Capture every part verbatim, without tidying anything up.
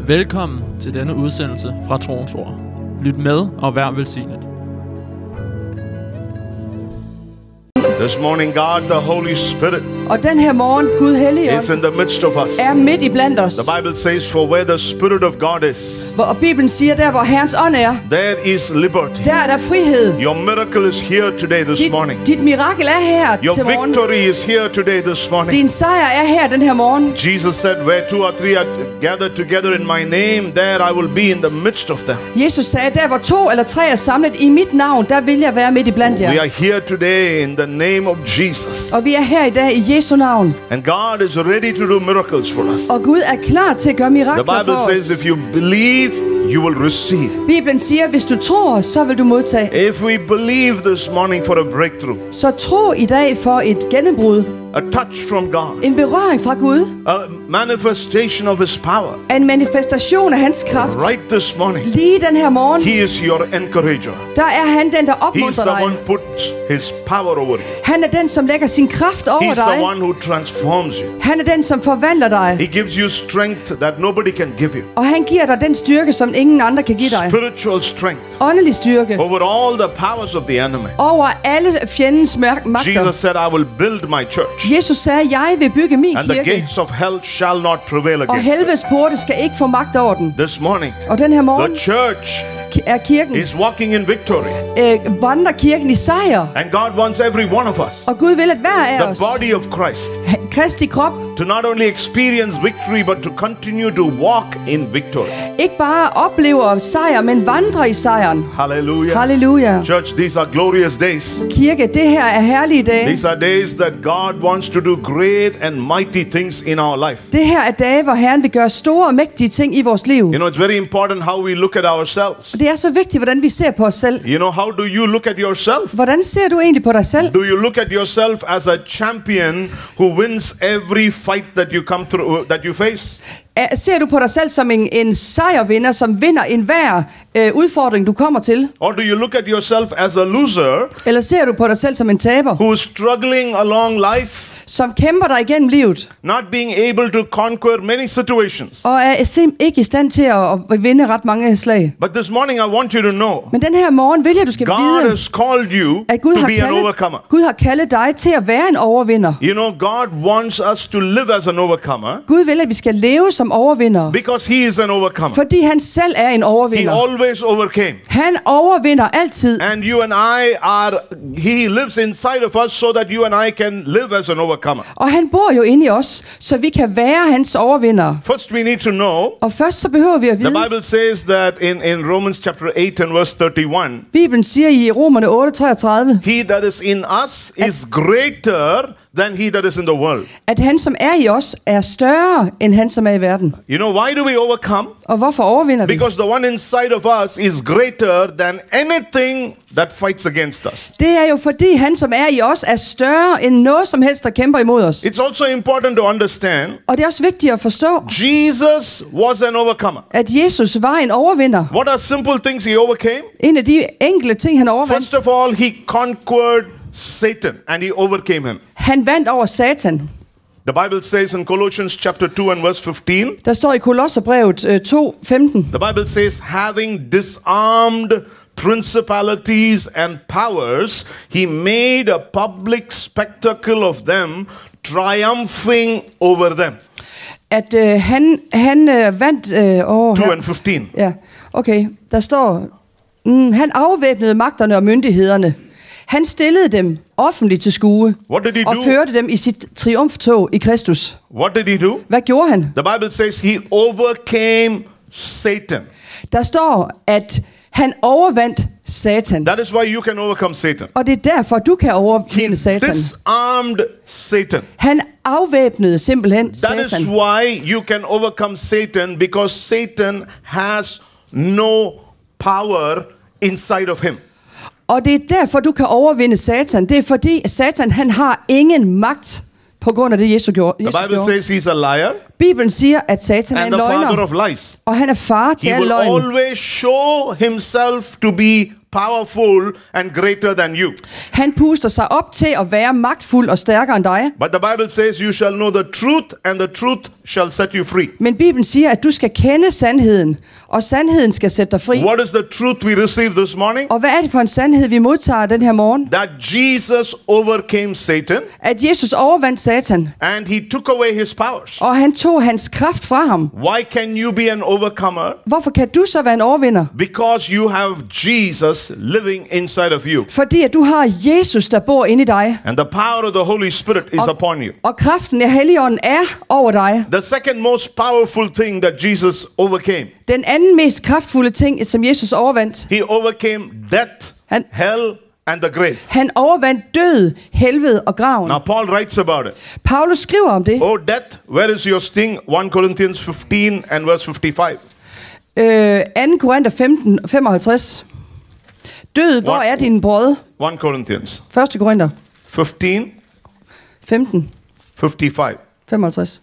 Velkommen til denne udsendelse fra Troens Ord. Lyt med og vær velsignet. This morning, God, the Holy Spirit, Og den her morgen, Gud Helligånd, is in the midst of us. er midt i blandt os. The Bible says, for where the Spirit of God is, Hvor- Og Bibelen siger, der hvor Herrens ånd er, there is liberty. der er der frihed. Your miracle is here today, this Dit, morning. dit mirakel er her Your til morgen. victory is here today, this morning. Din sejr er her den her morgen. Jesus said, where two or three are gathered together in my name, there I will be in the midst of them. Jesus sagde, der hvor to eller tre er samlet i mit navn, der vil jeg være midt i blandt We jer. are here today in the name of Jesus. Og vi er her i dag i Jesu navn. And God is ready to do miracles for us. Og Gud er klar til at gøre The mirakler Bible for says, os. if you believe, you will receive. Bibelen siger, hvis du tror, så vil du modtage. If we believe this morning for a breakthrough, Så tro i dag for et gennembrud. a touch from God, En berøring fra Gud. a manifestation of His power, En manifestation af hans kraft. right this morning, Lige den her morgen, He is your encourager. der er han den, der He's opmuntrer the dig. one who puts His power over you. Han er den, som lægger sin kraft over He's the dig. one who transforms you. Han er den, som forvandler dig. He gives you strength that nobody can give you. Og han giver dig den styrke, som ingen andre kan give dig. Spiritual strength Åndelig styrke. over all the powers of the enemy. Over alle fjendens mørk- magter. Jesus said, I will build my church, Jesus sagde, jeg vil bygge min and the kirke. gates of hell shall not prevail Og against it. helvedes porte skal ikke få magt over den. This morning, Og den her morgen the church ki- er kirken, is walking in victory. øh, vandrer kirken i sejr. And God wants every one of us, Og Gud vil, at hver af the os, body of Christ, Kristi krop, to not only experience victory, but to continue to walk in victory. ikke bare oplever sejr, men vandrer i sejren. Hallelujah. Halleluja. Church, these are glorious days. Kirke, det her er herlige dage. These are days that God wants to do great and mighty things in our life. Det her er dage, hvor Herren vil gøre store og mægtige ting i vores liv. You know, it's very important how we look at ourselves. Det er så vigtigt, hvordan vi ser på os selv. You know, how do you look at yourself? Hvordan ser du egentlig på dig selv? Do you look at yourself as a champion who wins every fight that you come through, that you face? Er- Ser du på dig selv som en, en sejrvinder, som vinder enhver øh, udfordring, du kommer til? Or do you look at yourself as a loser Eller ser du på dig selv som en taber, who is struggling along life, som kæmper dig igennem livet, not being able to conquer many situations? og er sim- ikke i stand til at, at vinde ret mange slag? But this morning I want you to know, Men den her morgen vil jeg, du skal God vide, has called you at Gud to har, be an kaldet, overcomer. Gud har kaldet dig til at være en overvinder. You know, God wants us to live as an overcomer Gud vil, at vi skal leve som overvinder, because He is an overcomer. fordi han selv er en He overvinder. always overcame. Han overvinder altid. And you and I are, He lives inside of us so that you and I can live as an overcomer. Og han bor jo inde i os, så vi kan være hans overvinder. First, we need to know, Og først så behøver vi at the vide, Bible says that in, in Romans chapter eight and verse thirty-one, Bibelen siger i Romerne otte treogtredive, He that is in us is greater than he that is in the world. at han som er i os er større end han som er i verden. You know, why do we overcome? Og hvorfor overvinder vi? Because the one inside of us is greater than anything that fights against us. Det er jo fordi han som er i os er større end noget som helst der kæmper imod os. It's also important to understand, Og det er også vigtigt at forstå, Jesus was an overcomer. at Jesus var en overvinder. What are simple things he overcame? En af de enkelte ting han overvandt. First of all, he conquered Satan and he overcame him. Han vandt over Satan. The Bible says in Colossians chapter two and verse fifteen, Der står i Kolosserbrevet øh, to femten. the Bible says, having disarmed principalities and powers, he made a public spectacle of them, triumphing over them. At øh, han han øh, vandt øh, over two and fifteen. Ja, okay. Der står, mm, han afvæbnede magterne og myndighederne. Han stillede dem offentligt til skue What did he og do? førte dem i sit triumftog i Kristus. What did he do? Hvad gjorde han? The Bible says he overcame Satan. Der står, at han overvandt Satan. That is why you can overcome Satan. Og det er derfor, du kan He overvinde Satan. disarmed Satan. Han afvæbnede simpelthen That is Satan. why you can overcome Satan, because Satan has no power inside of him. Og det er derfor, du kan overvinde Satan. Det er fordi, at Satan han har ingen magt på grund af det, Jesus gjorde. The Jesus Bible gjorde. says he's a liar. Bibelen siger, at Satan er and en the father løgner, of lies. og han er far til He al will løgn. always show himself to be powerful and greater than you. Han puster sig op til at være magtfuld og stærkere end dig. But the Bible says you shall know the truth, and the truth shall set you free. Men Bibelen siger, at du skal kende sandheden, og sandheden skal sætte dig fri. What is the truth we received this morning? Og hvad er det for en sandhed, vi modtager den her morgen? That Jesus overcame Satan, At Jesus overvandt Satan, and he took away his powers. og han tog hans kraft fra ham. Why can you be an overcomer? Hvorfor kan du så være en overvinder? Because you have Jesus living inside of you. Fordi at du har Jesus, der bor inde i dig. And the power of the Holy Spirit is upon you. Og kraften af Helligånden er over dig. The second most powerful thing that Jesus overcame, Den anden mest kraftfulde ting, som Jesus overvandt, he overcame death, Han- hell, and the grave. han overvandt død, helvede og graven. Now Paul writes about it. Paulus skriver om det. Oh death, where is your sting? First Corinthians fifteen and verse fifty-five. Øh, anden Korinther femten, femoghalvtreds. Død, hvor What? er din brød? First Corinthians første Korinther fifteen, femten, fifty-five. femoghalvtreds.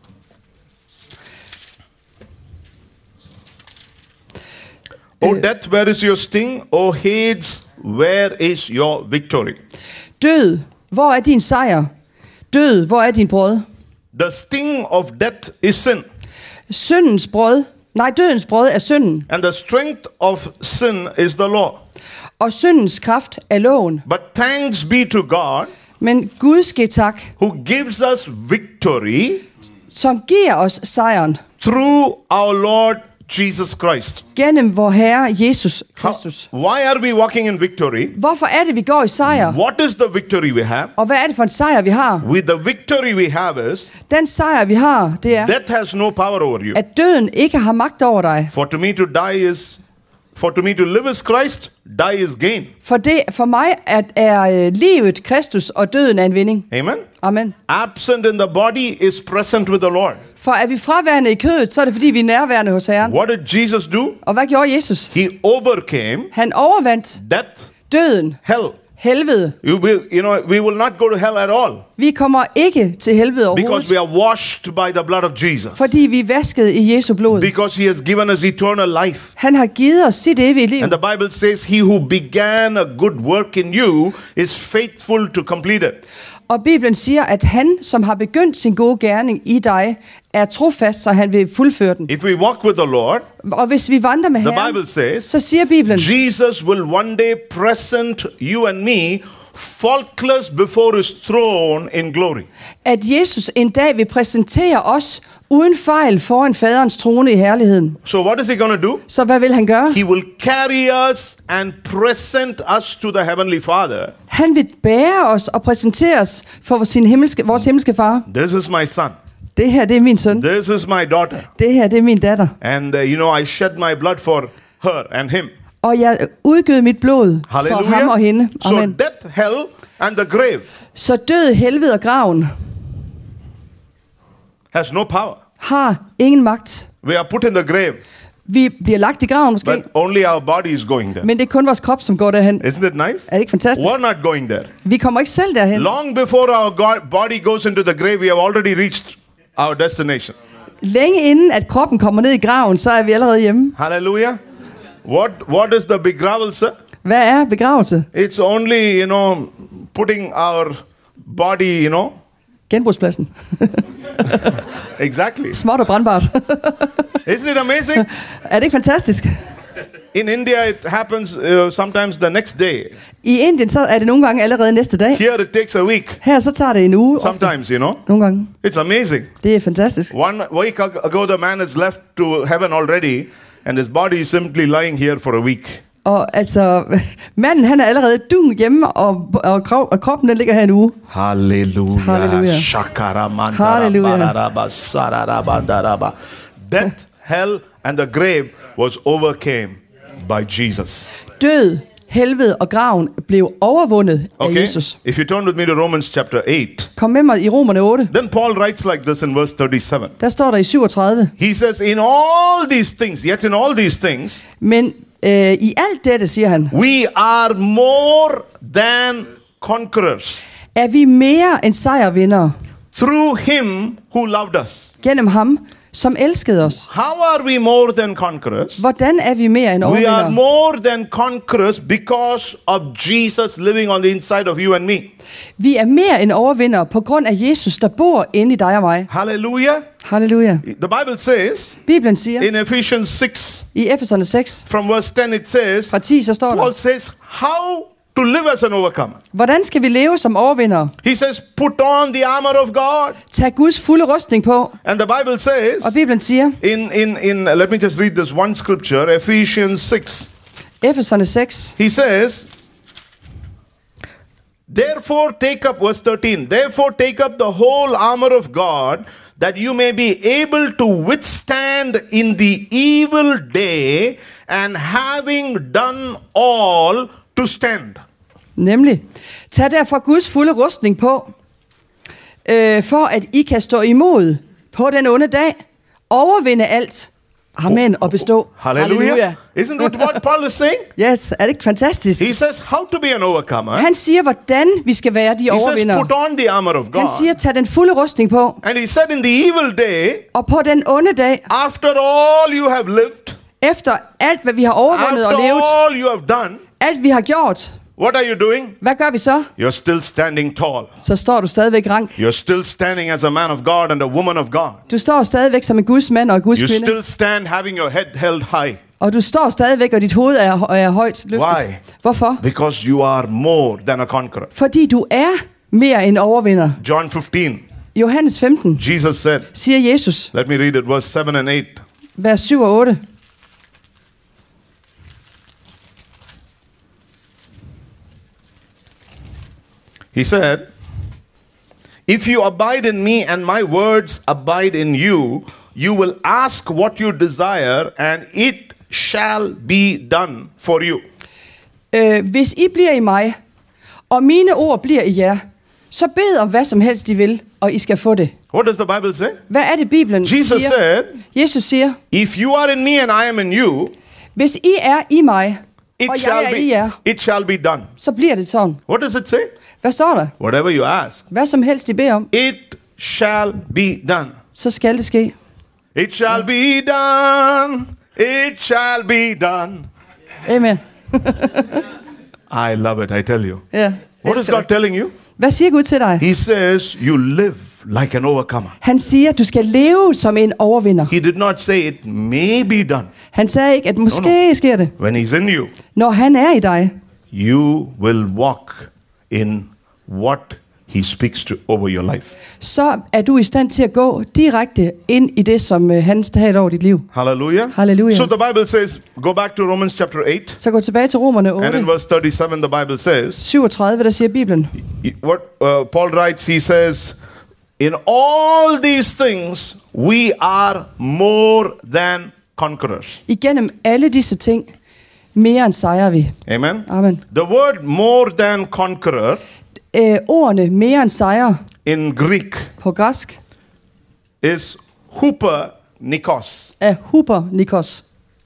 Oh death, where is your sting? Oh Hades, where is your victory? Død, hvor er din sejr? Død, hvor er din brød? The sting of death is sin, Syndens brød, nej, dødens brød er synden, and the strength of sin is the law. og syndens kraft er loven. But thanks be to God, Men Gud ske tak, who gives us victory som giver os sejren through our Lord Jesus Christ. gennem vor Herre Jesus How- Kristus. why are we walking in victory? Hvorfor er det, vi går i sejr? What is the victory we have? Og hvad er det for en sejr, vi har? With the victory we have is, Den sejr, vi har, det er, death has no power over you. at døden ikke har magt over dig. For to me to die is, for to me to live is Christ, die is gain. For, det, for mig at er øh, livet Kristus, og døden er en vinding. Amen? Amen. Absent in the body is present with the Lord. For er vi fraværende i kødet, så er det fordi, vi er nærværende hos Herren. What did Jesus do? Og hvad gjorde Jesus? He overcame Han overvandt death, døden, hell. helvede. You will, you know, we will not go to hell at all Vi kommer ikke til helvede because overhovedet, we are washed by the blood of Jesus. fordi vi er vasket i Jesu blod. Because he has given us eternal life. Han har givet os sit evige liv. And the Bible says, he who began a good work in you is faithful to complete it. Og Bibelen siger, at han, som har begyndt sin gode gerning i dig, er trofast, så han vil fuldføre den. If we walk with the Lord, Og hvis vi vandrer med the Herren, Bible says, så siger Bibelen, Jesus will one day present you and me faultless before his throne in glory. at Jesus en dag vil præsentere os uden fejl foran faderens trone i herligheden. So what is he going to do? Så hvad vil han gøre? He will carry us and present us to the heavenly Father. Han vil bære os og præsentere os for sin himmelske, vores himmelske far. This is my son. Det her, det er min søn. This is my daughter. Det her, det er min datter. And uh, you know, I shed my blood for her and him. Og jeg udgød mit blod for ham og Hallelujah. hende. So Amen. death, hell, and the grave Så død, helvede og graven has no power. har ingen magt. We are put in the grave, Vi bliver lagt i graven måske, but only our body is going there. men det er kun vores krop, som går derhen. Isn't it nice? Er det ikke fantastisk? We're not going there. Vi kommer ikke selv derhen. Long before our God, body goes into the grave, we have already reached our destination. Længe inden at kroppen kommer ned i graven, så er vi allerede hjemme. Hallelujah. What What is the begravelse? Hvad er begravelse? It's only, you know, putting our body, you know. Genbrugspladsen. Exactly. Småt og brandbart. Isn't it amazing? Er det ikke fantastisk? In India, it happens uh, sometimes the next day. I Indien så er det nogle gange allerede næste dag. Here, it takes a week. Her så tager det en uge. Ofte. Sometimes, you know. Nogle gange. It's amazing. Det er fantastisk. One week ago, the man is left to heaven already, and his body is simply lying here for a week. Og altså, manden han er allerede dung hjemme, og, og, krop, og kroppen den ligger her en uge. Hallelujah. Hallelujah. Hallelujah. Death, hell, and the grave was overcame by Jesus. Død, helvede og graven blev overvundet af Okay? Jesus. If you turn with me to Romans chapter eight, Kom med mig i Romerne otte. then Paul writes like this in verse thirty-seven. Der står der i syvogtredive. He says, in all these things, yet in all these things, Men øh, i alt dette, siger han, we are more than conquerors er vi mere end sejrvindere through him who loved us. Gennem ham, som elskede os. How are we more than conquerors? Hvordan er vi mere end We are overvindere? more than conquerors because of Jesus living on the inside of you and me. Vi er mere end overvindere på grund af Jesus, der bor inde i dig og mig. Hallelujah. Halleluja. The Bible says Bibelen siger in Ephesians six, i Efeserne seks, from verse ten, it says, fra ti, så står Paul der, says, how to live as an overcomer. hvordan skal vi leve som overvindere? He says, put on the armor of God. Tag Guds fulde rustning på. And the Bible says, Og Bibelen siger, in, in, in uh, let me just read this one scripture, Ephesians six. Efeserne seks, He says, therefore take up, verse thirteen, therefore take up the whole armor of God, that you may be able to withstand in the evil day, and having done all, to stand. nemlig, tag derfor Guds fulde rustning på, øh, for at I kan stå imod på den onde dag, overvinde alt, amen, og bestå. Hallelujah. Isn't that what Paul is saying? Yes, er det ikke fantastisk? He says how to be an overcomer. Han siger, hvordan vi skal være de He says overvindere. put on the armor of Han God. siger, tag den fulde rustning på, And he said in the evil day, og på den onde dag, after all you have lived, efter alt, hvad vi har overvundet after og levet, all you have done, alt vi har gjort, what are you doing? hvad gør vi så? You're still standing tall. Så står du stadigvæk rank. You're still standing as a man of God and a woman of God. Du står stadigvæk som en Guds mand og en Guds You kvinde. still stand having your head held high. Og du står stadigvæk, og dit hoved er, er højt løftet. Why? Hvorfor? Because you are more than a conqueror. Fordi du er mere end overvinder. John fifteen, Johannes femten Jesus said, siger Jesus, let me read it, verse seven and eight. vers syv og otte. He said, if you abide in me and my words abide in you, you will ask what you desire and it shall be done for you. Øh, hvis I bliver i mig, og mine ord bliver i jer, så bed om hvad som helst I vil, og I skal få det. What does the Bible say? Hvad er det, Bibelen Jesus siger? said, Jesus siger, if you are in me and I am in you, hvis I er i mig, it og jeg shall er i be jer, it shall be done. så bliver det sådan. What does it say? Hvad står der? Whatever you ask, Hvad som helst I beder om, it shall be done. så skal det ske. It shall be done. It shall be done. Amen. I love it, I tell you. Ja. What is God telling you? Hvad siger Gud til dig? He says you live like an overcomer. Han siger, at du skal leve som en overvinder. He did not say it may be done. Han sagde ikke, at måske No, no. sker det. When he's in you, Når han er i dig, you will walk in what he speaks to over your life. så er du i stand til at gå direkte ind i det, som øh, han taler over dit liv. Hallelujah. Hallelujah. So the Bible says, go back to Romans chapter eight, Så gå tilbage til Romerne and in otte, verse thirty-seven, the Bible says, syvogtredive, der siger Bibelen. what uh, Paul writes, he says, in all these things, we are more than conquerors. Igennem alle disse ting, mere end sejrer vi. Amen. Amen. The word more than conqueror Øh, ordene mere end sejrer in Greek på græsk is huper nikos. er huper nikos.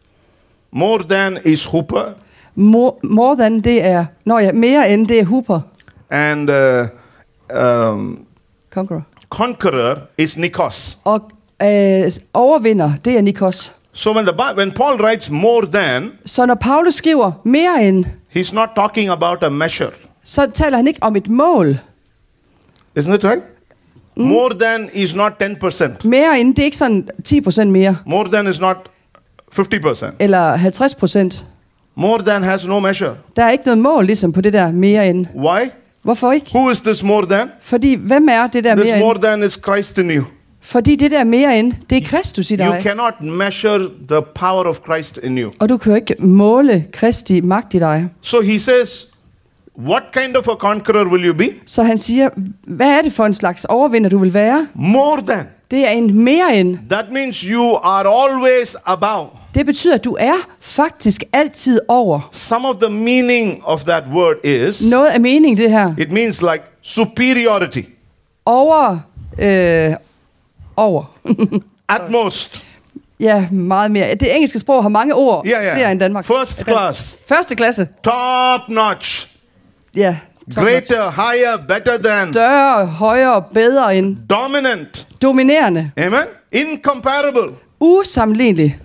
More than is huper, More, more than det er, nå ja, mere end det er huper. and uh, um, Conqueror. conqueror is nikos. Og øh, overvinder, det er nikos. So when the Bi- when Paul writes more than, Så når Paulus skriver mere end, he's not talking about a measure. så taler han ikke om et mål. Isn't it right? More than is not ten percent. Mere end, det er ikke sådan ti procent mere, More than is not fifty percent. eller halvtreds procent. More than has no measure. Der er ikke noget mål ligesom på det der mere end. Why? Hvorfor ikke? Who is this more than? Fordi, hvem er det der This mere more end? than is Christ in you. Fordi det der mere end, det er Kristus i You dig. cannot measure the power of Christ in you. Og du kan jo ikke måle Kristi magt i dig. So he says, what kind of a conqueror will you be? Så han siger, hvad er det for en slags overvinder, du vil være? More than. Det er en mere end. That means you are always above. Det betyder, at du er faktisk altid over. Some of the meaning of that word is, Noget af meningen det her. it means like superiority. Over. Øh, over. At most. Ja, meget mere. Det engelske sprog har mange ord. Ja, ja. Flere end Danmark. First class. Første klasse. Top notch. Ja, greater, higher, better than, Større, højere, bedre end. dominant. Dominerende. Amen. Incomparable. Usammenlignelig.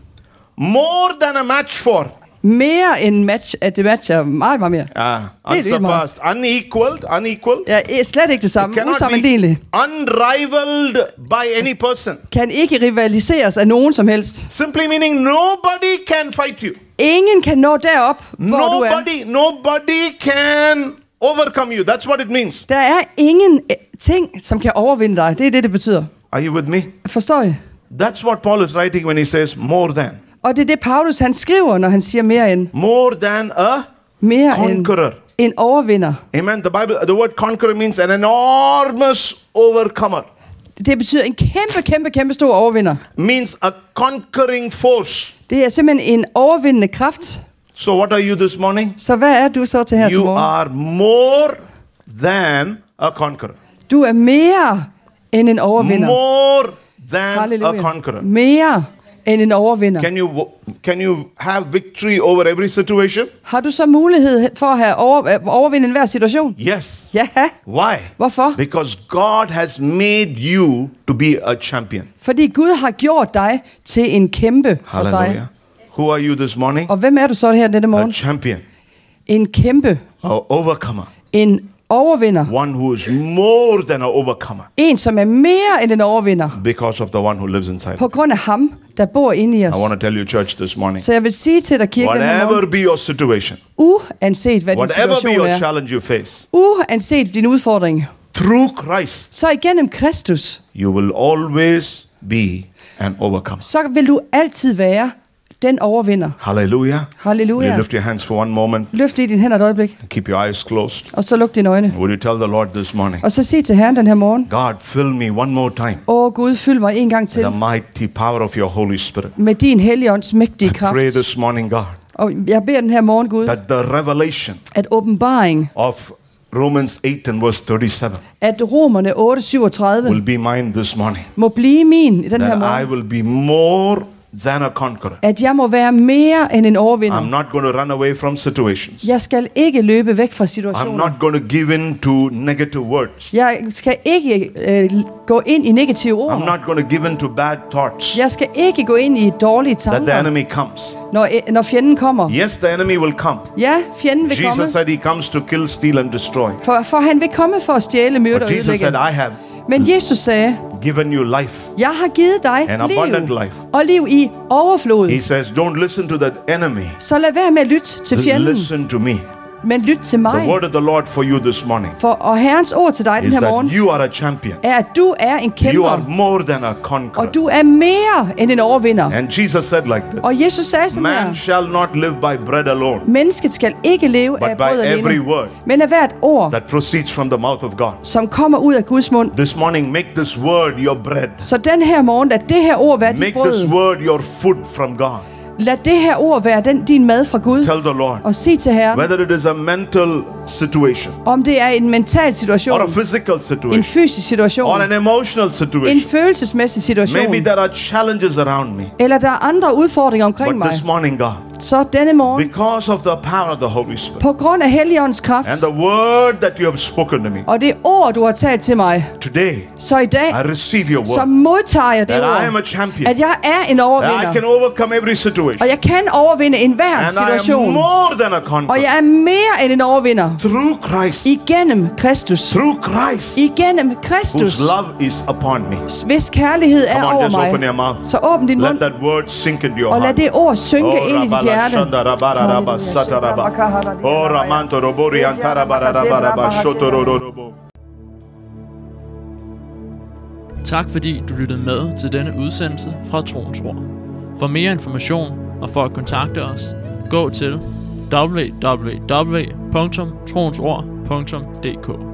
More than a match for. Mere end match, at det matcher meget, meget mere. Ah, Helt vildt meget. unsurpassed, unequaled, unequal. Ja, er slet ikke det samme. Cannot Usammenlignelig. be unrivaled by any person. Kan ikke rivaliseres af nogen som helst. Simply meaning nobody can fight you. Ingen kan nå derop, hvor du er. Nobody, nobody can overcome you. That's what it means. Der er ingen eh, ting, som kan overvinde dig. Det er det, det betyder. Are you with me? Forstår I? That's what Paul is writing when he says more than. Og det er det, Paulus han skriver, når han siger mere end. More than a Mere end conqueror. en overvinder. Amen. The Bible, the word conqueror means an enormous overcomer. Det betyder en kæmpe, kæmpe, kæmpe stor overvinder. Means a conquering force. Det er simpelthen en overvindende kraft. So what are you this morning? Så hvad er du så til her til You morgen? are more than a conqueror. Du er mere end en overvinder. More than a Halleluja. conqueror. Mere end en overvinder. Can you can you have victory over every situation? Har du så mulighed for at have over, overvinde enhver situation? Yes. Ja. Why? Hvorfor? Because God has made you to be a champion. Fordi Gud har gjort dig til en kæmpe for sig. Hallelujah. Who are you this morning? Og hvem er du så her denne A morgen? champion. En kæmpe. A overcomer. En overvinder. One who is more than an overcomer. En, som er mere end en overvinder. Because of the one who lives inside. På grund af ham, der bor inde i os. I want to tell you, church, this morning. Så jeg vil sige til dig, kirke, den her Whatever morgen, be your situation, uanset hvad din whatever be situation your er, challenge you face, uanset din udfordring, through Christ, så igennem Kristus, you will always be an overcomer. så vil du altid være den overvinder. Hallelujah. Will Halleluja. you lift your hands for one moment? Løft lige dine hænder et øjeblik, Keep your eyes closed. og så luk dine øjne. Would you tell the Lord this morning, Og så sig til Herren den her morgen, God, fill me one more time åh Gud, fyld mig en gang til with the mighty power of your Holy Spirit. med din helligånds mægtige I kraft. pray this morning, God, Og jeg beder den her morgen, Gud, that the revelation at åbenbaring, of Romans eight and verse thirty-seven at Romerne otte syvogtredive will be mine this morning. må blive min i den her That I morgen. will be more than a conqueror. At jeg må være mere end en I'm overvinder. not going to run away from situations. Jeg skal ikke løbe væk fra I'm situationer. not going to give in to negative words. Jeg skal ikke øh, gå ind i negative I'm ord. not going to give in to bad thoughts. Jeg skal ikke gå ind i dårlige That the tanker, enemy comes. når, øh, når fjenden kommer. Yes, the enemy will come. Ja, fjenden vil komme, Jesus said he comes to kill, steal and destroy. for, for han vil komme for at stjæle, myrde But og Jesus said, ødelægge. I have Men Jesus sagde, given you life. jeg har givet dig An abundant liv, life. og liv i overflod. He says, don't listen to that enemy. Så lad være med at lytte til fjenden, Listen to me. men lyt til The mig. word of the Lord for you this morning For, og Herrens ord til dig den is her that morgen you are a champion. er, at du er en You are kæmper, more than a conqueror. og du er mere end en overvinder. And Jesus said like this, Og Jesus sagde sådan man her, shall not live by bread alone, mennesket skal ikke leve but af by brød every alene, word men af hvert ord, that proceeds from the mouth of God. som kommer ud af Guds mund. This morning, make this word your bread. Så den her morgen, lad det her ord være dit Make brød. this word your food from God. Lad det her ord være den, din mad fra Gud. Tell the Lord, Og sig til Herren, whether it is a mental situation, om det er en mental or a situation, physical en situation, fysisk situation, or an emotional en situation. følelsesmæssig situation, Maybe there are challenges around me. eller der er andre udfordringer omkring But mig. this morning, God, Så denne morgen, because of the power of the Holy Spirit på grund af Helligåndens kraft, and the word that you have spoken to me, og det ord, du har talt til mig, today så i dag, I receive your så word modtager jeg det that I am ord, a champion, at jeg er en that I overvinder, can overcome every situation, og jeg kan overvinde enhver and I am situation, more than a og conqueror jeg er mere end en overvinder, through Christ, igennem Kristus, through Christ, igennem whose Kristus, love is upon me. hvis kærlighed er Come on, over just open your mig. mouth. Så åbn din Let mund, that word sink into your og lad heart. det ord synke Oh, ind i dit Rabala hjerte. Shanda Rabara Rabba Sataraba. Oh, Ramanto Robori Antara Baraba Rabba Shotororobo. Tak fordi du lyttede med til denne udsendelse fra Troens Ord. For mere information og for at kontakte os, gå til w w w punktum troensord punktum d k.